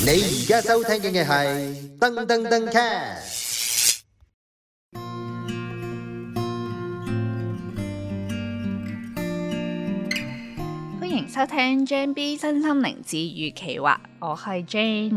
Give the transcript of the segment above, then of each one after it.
你而家收聽嘅係噔噔噔 cast。 歡迎收聽 JB 身心靈治癒企劃，我係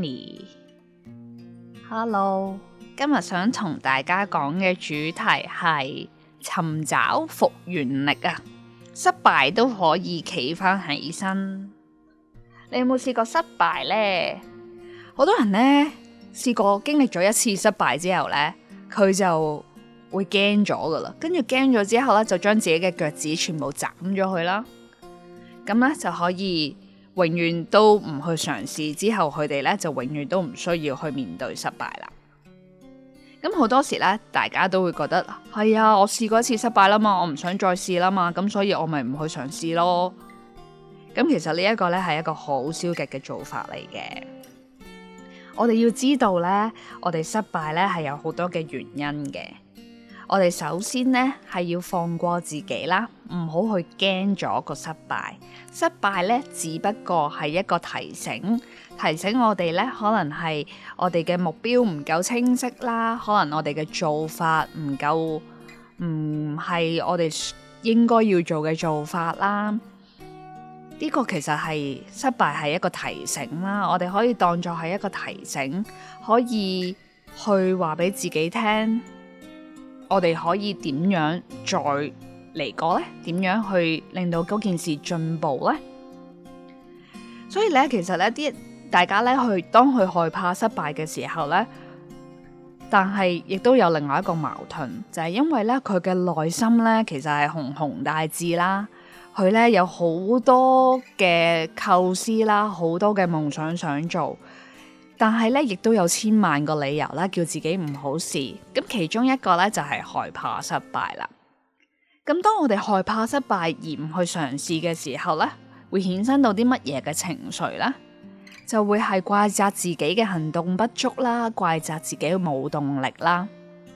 Jenny。Hello， 今日想同大家講嘅主題係尋找復原力啊！失敗都可以企返起身。你有冇試過失敗呢？好多人呢，試過經歷咗一次失敗之後呢，佢就會驚咗噶啦，跟住驚咗之後呢，就將自己嘅腳趾全部斬咗佢啦。咁呢，就可以永遠都唔去嘗試，之後佢哋呢，就永遠都唔需要去面對失敗啦。咁好多時呢，大家都會覺得係啊，我試過一次失敗啦嘛，我唔想再試啦嘛，咁所以我咪唔去嘗試咯。咁其實呢一個呢，係一個好消極嘅做法嚟嘅。我哋要知道呢，我哋失敗呢係有好多嘅原因嘅。我哋首先呢係要放過自己啦，唔好去驚咗個失敗。失敗呢只不過係一個提醒我哋呢，可能係我哋嘅目標唔夠清晰啦，可能我哋嘅做法唔夠，唔係我哋應該要做嘅做法啦。呢個其實係失敗係一個提醒啦，我哋可以當作係一個提醒，可以去話俾自己聽，我哋可以點樣再嚟過呢？點樣去令到嗰件事進步呢？所以咧，其實咧，大家咧當佢害怕失敗嘅時候咧，但係亦都有另外一個矛盾，就係因為咧佢嘅內心咧其實係宏宏大志啦。佢咧有好多嘅構思啦，好多嘅夢想做，但係咧亦都有千萬個理由啦，叫自己唔好試。咁其中一個咧就係害怕失敗啦。咁當我哋害怕失敗而唔去嘗試嘅時候咧，會衍生到啲乜嘢嘅情緒咧？就會係怪責自己嘅行動不足啦，怪責自己冇動力啦。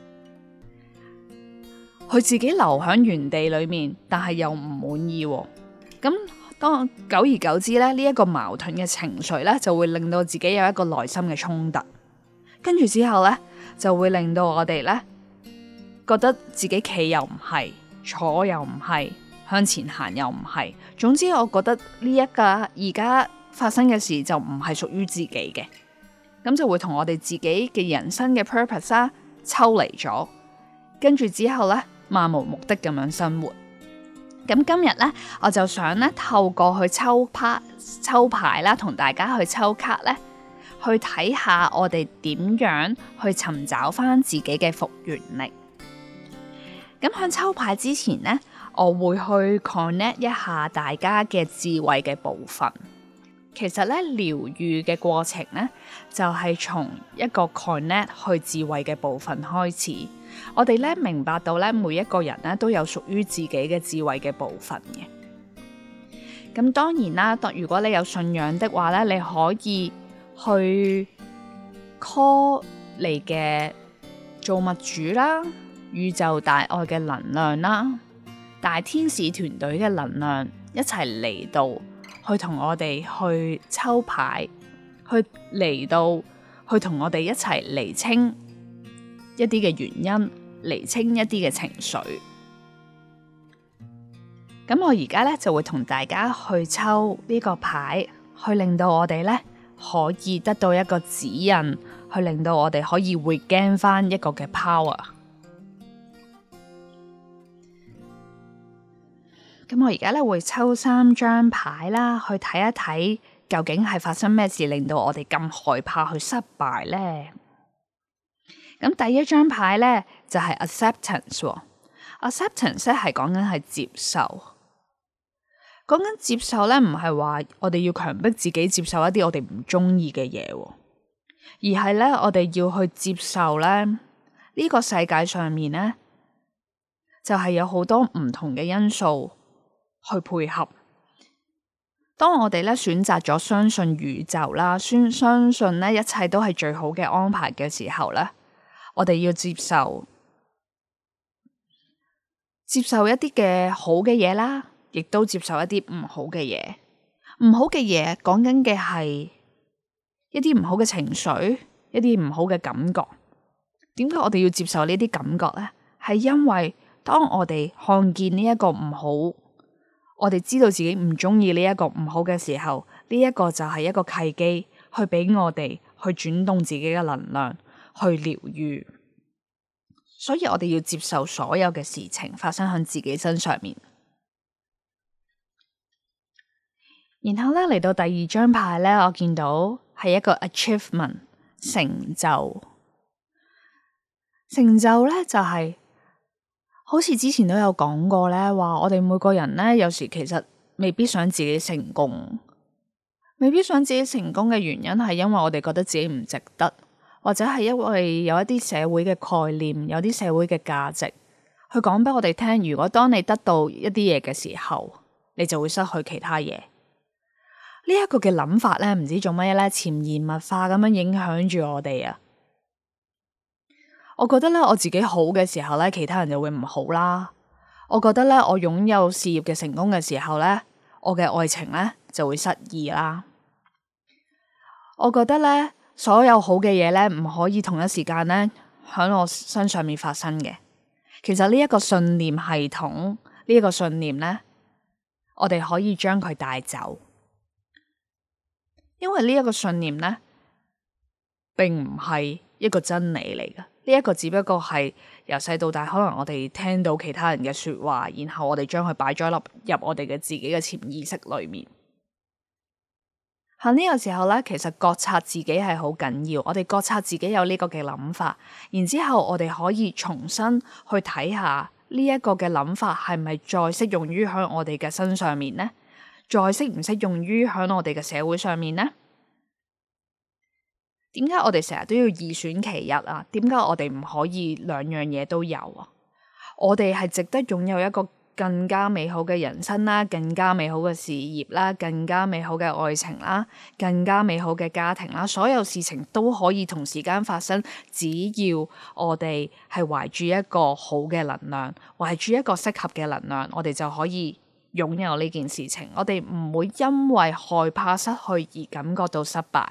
佢自己留喺原地裏面，但係又唔滿意喎。咁當久而久之咧，呢一個矛盾嘅情緒咧，就會令到自己有一個內心嘅衝突。跟住之後咧，就會令到我哋咧覺得自己企又唔係，坐又唔係，向前行又唔係。總之，我覺得呢一個而家發生嘅事就唔係屬於自己嘅，咁就會同我哋自己嘅人生嘅 purpose 啦抽離咗。跟住之後咧，漫無目的咁樣生活。咁今日咧，我就想咧透過去抽牌啦，同大家去抽卡咧，去睇下我哋點樣去尋找翻自己嘅復原力。咁喺抽牌之前咧，我會去 connect 一下大家嘅智慧嘅部分。其實咧，療癒嘅過程咧，就係從一個 connect 去智慧嘅部分開始。我哋咧明白到咧，每一個人咧都有屬於自己嘅智慧嘅部分嘅。咁當然啦，如果你有信仰的話咧，你可以去 call 你嘅造物主啦、宇宙大愛嘅能量啦、大天使團隊嘅能量一齊嚟到，去同我哋去抽牌，去嚟到去同我哋一齊釐清一啲嘅原因，釐清一啲嘅情緒。咁我而家咧就會同大家去抽呢個牌，去令到我哋咧可以得到一個指引，去令到我哋可以regain翻一個嘅 power。咁我而家咧會抽3張牌啦，去睇一睇究竟係發生咩事令到我哋咁害怕去失敗呢？咁第一張牌咧就係 acceptance。acceptance 咧係講緊係接受，講緊接受咧唔係話我哋要強迫自己接受一啲我哋唔中意嘅嘢，而係咧我哋要去接受咧呢個世界上面咧就係有好多唔同嘅因素去配合。當我哋咧選擇咗相信宇宙啦，相信咧一切都係最好嘅安排嘅時候咧，我哋要接受一啲嘅好嘅嘢啦，亦都接受一啲唔好嘅嘢。唔好嘅嘢講緊嘅係一啲唔好嘅情緒，一啲唔好嘅感覺。點解我哋要接受呢啲感覺呢？係因為當我哋看見呢一個唔好，我哋知道自己唔中意呢一個唔好嘅時候，呢一個就係一個契機，去俾我哋去轉動自己嘅能量，去療癒。所以我哋要接受所有嘅事情發生喺自己身上面。然後咧嚟到第二張牌咧，我見到係一個 achievement 成就。成就咧就係好似之前都有講過咧，話我哋每個人咧有時其實未必想自己成功，未必想自己成功嘅原因係因為我哋覺得自己唔值得，或者係因為有一啲社會嘅概念，有啲社會嘅價值去講俾我哋聽，如果當你得到一啲嘢嘅時候，你就會失去其他嘢。呢一個嘅諗法咧，唔知做乜嘢咧，潛移默化咁樣影響住我哋啊！我覺得咧，我自己好嘅時候咧，其他人就會唔好啦。我覺得咧，我擁有事業嘅成功嘅時候咧，我嘅愛情咧就會失意啦。我覺得咧，所有好嘅嘢咧，唔可以同一時間咧喺我身上面發生嘅。其實呢一個信念系統，呢一個信念咧，我哋可以將佢帶走，因為呢一個信念咧，並唔係一個真理嚟嘅。呢一個只不過係由細到大，可能我哋聽到其他人嘅說話，然後我哋將佢擺咗入我哋嘅自己嘅潛意識裏面。喺呢個時候咧，其實覺察自己係好緊要。我哋覺察自己有呢個嘅諗法，然之後我哋可以重新去睇下呢一個嘅諗法係咪再適用於喺我哋嘅身上面呢？再適唔適用於喺我哋嘅社會上面呢？點解我哋成日都要二選其一啊？點解我哋唔可以兩樣嘢都有啊？我哋係值得擁有一個更加美好嘅人生啦，更加美好嘅事業啦，更加美好嘅愛情啦，更加美好嘅家庭啦，所有事情都可以同時間發生，只要我哋係懷住一個好嘅能量，懷住一個適合嘅能量，我哋就可以擁有呢件事情。我哋唔會因為害怕失去而感覺到失敗。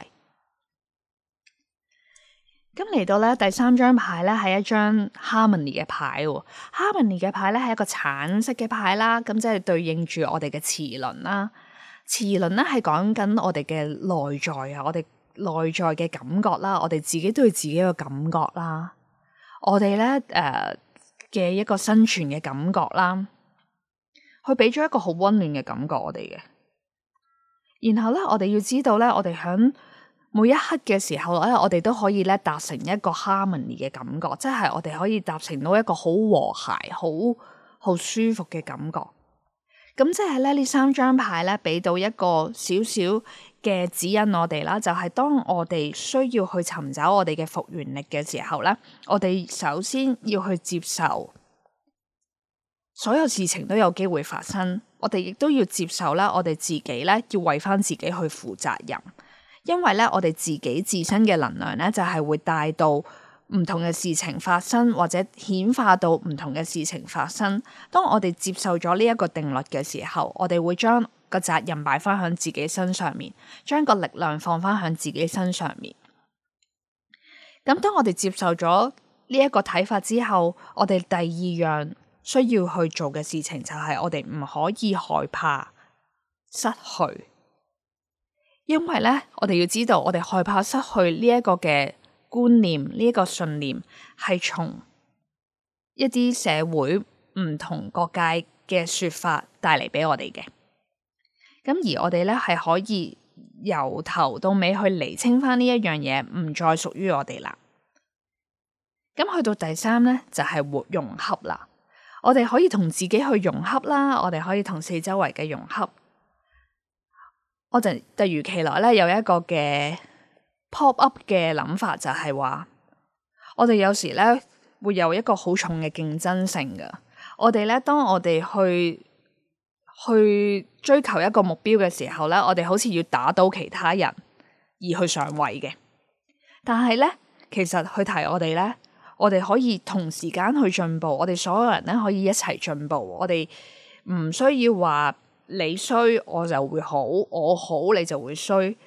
咁嚟到咧第三張牌咧，係一張 Harmony 嘅牌。Harmony 嘅牌咧係一個橙色嘅牌啦，咁即係對應住我哋嘅臍輪啦。臍輪咧係講緊我哋嘅內在啊，我哋內在嘅感覺啦，我哋自己對自己嘅感覺啦，我哋咧嘅一個生存嘅感覺啦，佢俾咗一個好溫暖嘅感覺我哋嘅。然後咧，我哋要知道咧，我哋響每一刻嘅時候咧，我哋都可以咧達成一個 harmony 嘅感覺，即係我哋可以達成到一個好和諧、好舒服嘅感覺。咁即係咧呢三張牌咧，俾到一個少少嘅指引我哋啦，就係當我哋需要去尋找我哋嘅復原力嘅時候咧，我哋首先要去接受所有事情都有機會發生，我哋亦都要接受啦，我哋自己咧要為翻自己去負責任。因為咧，我哋自己自身嘅能量咧，就係會帶到唔同嘅事情發生，或者顯化到唔同嘅事情發生。當我哋接受咗呢一個定律嘅時候，我哋會將個責任擺翻響自己身上面，將個力量放翻響自己身上面。咁當我哋接受咗呢一個睇法之後，我哋第二樣需要去做嘅事情就係我哋唔可以害怕失去。因為咧，我哋要知道，我哋害怕失去呢一個嘅觀念，呢一個信念係從一啲社會唔同各界嘅說法帶嚟俾我哋嘅。咁而我哋咧係可以由頭到尾去釐清翻呢一樣嘢，唔再屬於我哋啦。咁去到第三咧，就係融合啦。我哋可以同自己去融合啦，我哋可以同四周圍嘅融合。我就突如其來咧，有一個嘅 pop up 嘅諗法，就係話我哋有時咧會有一個好重嘅競爭性噶。我哋咧，當我哋去追求一個目標嘅時候咧，我哋好似要打倒其他人而去上位嘅。但係咧，其實去提我哋咧，我哋可以同時間去進步，我哋所有人咧可以一齊進步。我哋唔需要話你衰我就會好，我好你就會衰。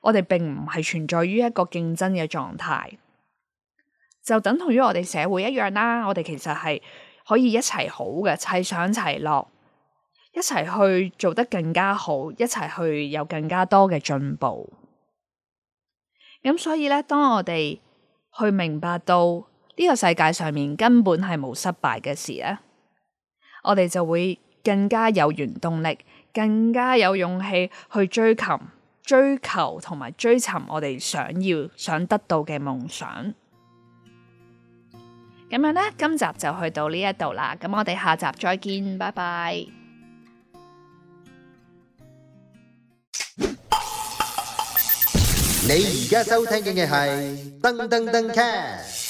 我哋並唔係存在於一個競爭嘅狀態，就等同於我哋社會一樣啦。我哋其實係可以一齊好嘅，齊上齊落，一齊去做得更加好，一齊去有更加多嘅進步。咁所以咧，當我哋去明白到呢個世界上面根本係冇失敗嘅事咧，我哋就會更加有原動力，更加有勇氣去追求同埋追尋我哋想得到嘅夢想。咁樣呢，今集就去到呢一度啦。咁我哋下集再見，拜拜。 你而家收聽嘅係噔噔噔 cast。